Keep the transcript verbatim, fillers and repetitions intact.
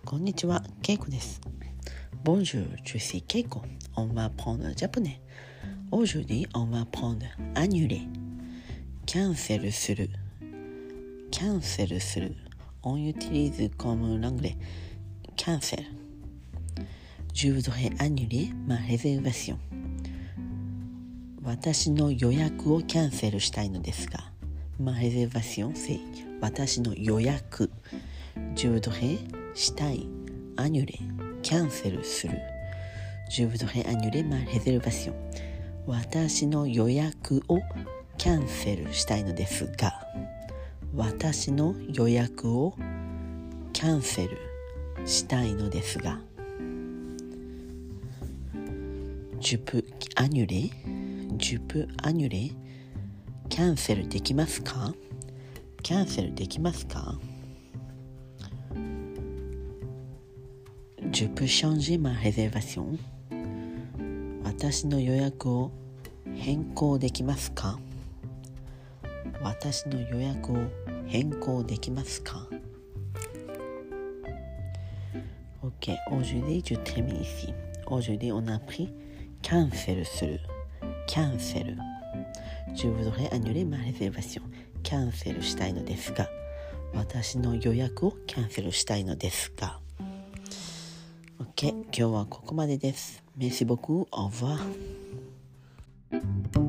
こんにちは、ケイコです。Bonjour, je suis Keiko. On va apprendre le japonais. Aujourd'hui, on va apprendre annuler. Cancel する。Cancel する。On utilise comme l'anglais. Cancel. Je voudrais annuler ma réservation. 私の予約をキャンセルしたいのですが。Ma réservation, c'est 私の予約。Je voudrais したい。annuler キャンセルする。Je voudrais annuler ma réservation 私の予約をキャンセルしたいのですが私の予約をキャンセルしたいのですが Je peux annuler Je peux annuler キャンセルできますかキャンセルできますかJe peux changer ma réservation 私の予約を変更できますか私の予約を変更できますか Ok, aujourd'hui je termine ici. Aujourd'hui on a appris cancel する cancel Je voudrais annuler ma réservation キャンセルしたいのですが私の予約をキャンセルしたいのですがOK、今日はここまでです。Merci beaucoup. Au revoir.